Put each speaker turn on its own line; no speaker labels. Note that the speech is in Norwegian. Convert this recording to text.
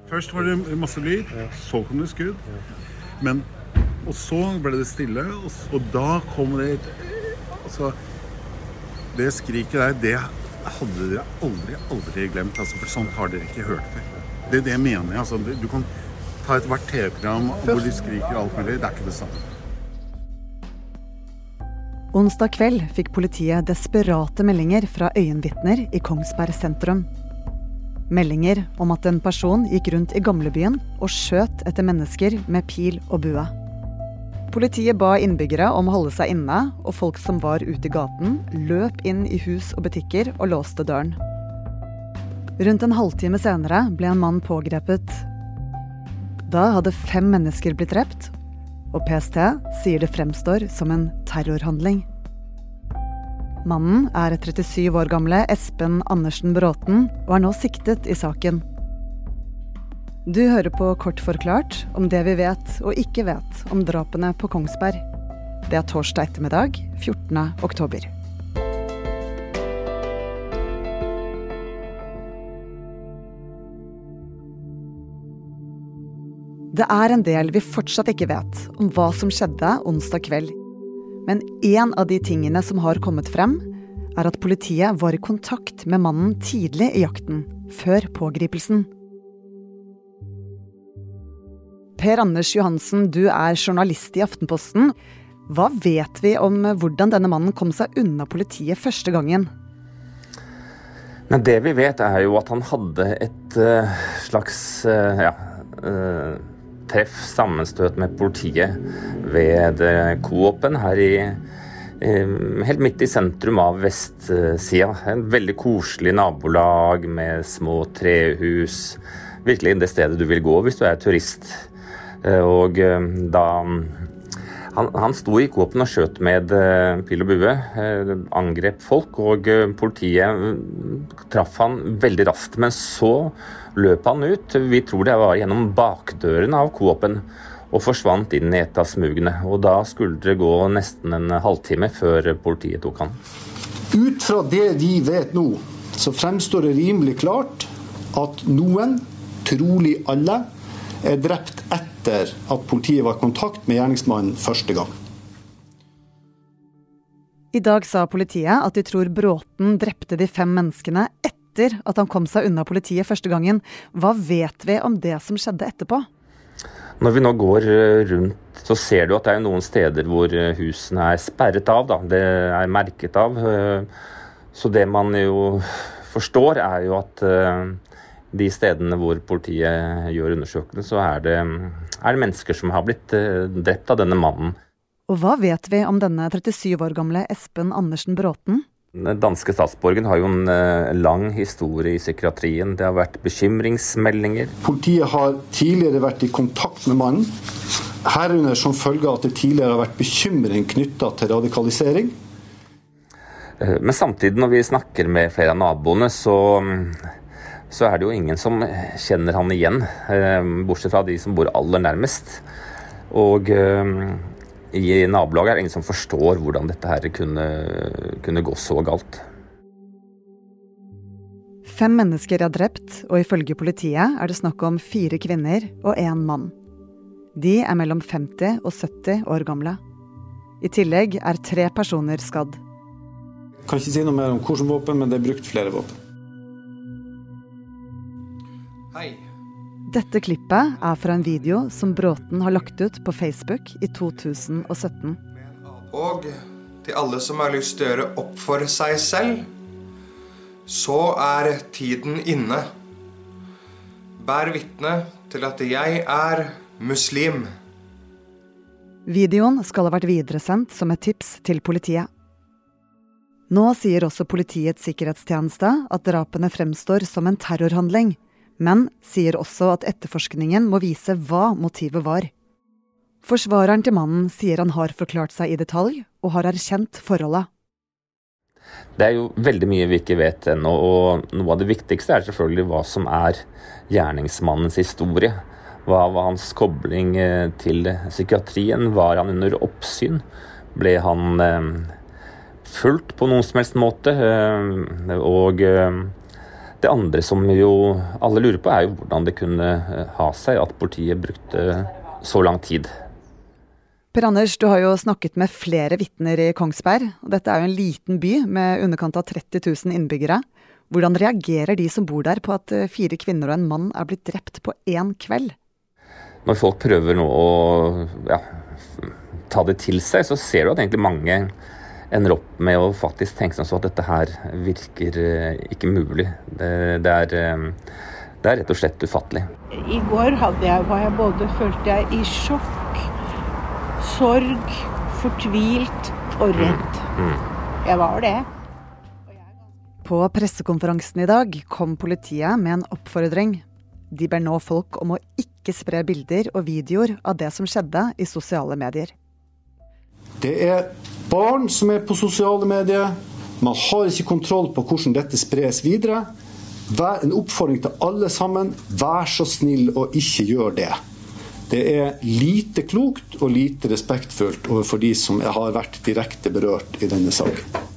Først var det masse lyd, så kom det skudd, og så ble det stille, og da kom det altså, det skriket der, det hadde dere aldri glemt, altså, for sånt har dere ikke hørt før. Det er det jeg mener, altså, du kan ta et hvert TV-program hvor de skriker alt mulig, det er ikke det samme.
Onsdag kveld fikk politiet desperate meldinger fra øyenvitner i Kongsberg sentrum. Meldinger om at en person gikk rundt i gamlebyen og skjøt etter mennesker med pil og bue. Politiet ba innbyggere om å holde seg inne, og folk som var ute i gaten løp inn i hus og butikker og låste døren. Rundt en halvtime senere ble en mann pågrepet. Da hadde 5 mennesker blitt drept, og PST sier det fremstår som en terrorhandling. Mannen er 37 år gamle Espen Andersen Bråten og er nå siktet i saken. Du hører på Kort forklart om det vi vet og ikke vet om drapene på Kongsberg. Det er torsdag ettermiddag, 14. oktober. Det er en del vi fortsatt ikke vet om hva som skjedde onsdag kveld. Men en av de tingene som har kommet frem, er at politiet var i kontakt med mannen tidlig i jakten, før pågripelsen. Per Anders Johansen, du er journalist i Aftenposten. Hva vet vi om hvordan denne mannen kom seg unna politiet første gangen?
Men det vi vet er jo at han hadde et slags treff, sammenstøt med politiet ved Coop-en her helt midt i sentrum av vestsida. En veldig koselig nabolag med små trehus. Virkelig det stedet du vil gå hvis du er turist. Og da han sto i Coop-en og skjøt med pil og bue, angrep folk, og politiet traff han veldig raskt. Men så løp han ut, vi tror det var gjennom bakdøren av Coop-en, og forsvant inn i et av smugene. Og da skulle det gå nesten en halvtime før politiet tok han.
Ut fra det vi vet nå, så fremstår det rimelig klart at noen, trolig alle, er drept etter at politiet var i kontakt med gjerningsmannen første gang.
I dag sa politiet at de tror Bråten drepte de 5 menneskene etter at han kom seg unna politiet første gangen. Hva vet vi om det som skjedde etterpå?
Når vi nå går rundt, så ser du at det er noen steder hvor husene er sperret av. Det er merket av. Så det man jo forstår er jo at de stedene hvor politiet gjør undersøkelsen, så er det mennesker som har blitt drept av denne mannen.
Og hva vet vi om denne 37 år gamle Espen Andersen Bråten?
Den danske statsborgen har jo en lang historie i psykiatrien. Det har vært bekymringsmeldinger.
Politiet har tidligere vært i kontakt med mannen, herunder som følge av at det tidligere har vært bekymring knyttet til radikalisering.
Men samtidig når vi snakker med flere av naboene, så er det jo ingen som kjenner han igjen, bortsett fra de som bor aller nærmest. Og i nabolaget er det ingen som forstår hvordan dette her kunne gå så galt.
5 mennesker er drept, og ifølge politiet er det snakk om 4 kvinner og 1 mann. De er mellom 50 og 70 år gamle. I tillegg er 3 personer skadd.
Jeg kan ikke si noe mer om hvilke våpen, men det er brukt flere våpen.
Hei.
Dette klippet er fra en video som Bråten har lagt ut på Facebook i 2017.
Og til alle som har lyst til å gjøre opp for seg selv, så er tiden inne. Bær vitne til at jeg er muslim.
Videoen skal ha vært videresendt som et tips til politiet. Nå sier også Politiets sikkerhetstjeneste at drapene fremstår som en terrorhandling, men sier også at etterforskningen må vise hva motivet var. Forsvareren til mannen sier han har forklart seg i detalj og har erkjent forholdet.
Det er jo veldig mye vi ikke vet ennå, og noe av det viktigste er selvfølgelig hva som er gjerningsmannens historie. Hva var hans kobling til psykiatrien? Var han under oppsyn? Ble han fulgt på noen som helst måte? Og Det andre som jo alle lurer på, jo hvordan det kunne ha seg at politiet brukte så lang tid.
Per Anders, du har jo snakket med flere vitner i Kongsberg. Dette jo en liten by med underkant av 30 000 innbyggere. Hvordan reagerer de som bor der på at 4 kvinner og en mann blitt drept på en kveld?
Når folk prøver nå å ta det til seg, så ser du at egentlig mange ender opp med å faktisk tenke seg så at dette her virker ikke mulig. Det er rett og slett ufattelig.
I går følte jeg i sjokk, sorg, fortvilt og redd. Jeg var det.
På pressekonferansen i dag kom politiet med en oppfordring. De ber nå folk om å ikke spre bilder og videoer av det som skjedde i sosiale medier.
Det barn som på sosiale medier. Man har ikke kontroll på hvordan dette spres videre. En oppfordring til alle sammen. Vær så snill og ikke gjør det. Det lite klokt og lite respektfullt overfor de som har vært direkte berørt i denne saken.